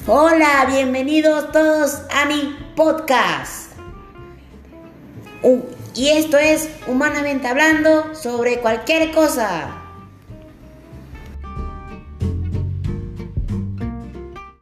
Hola, bienvenidos todos a mi podcast. Y esto es Humanamente Hablando sobre cualquier cosa.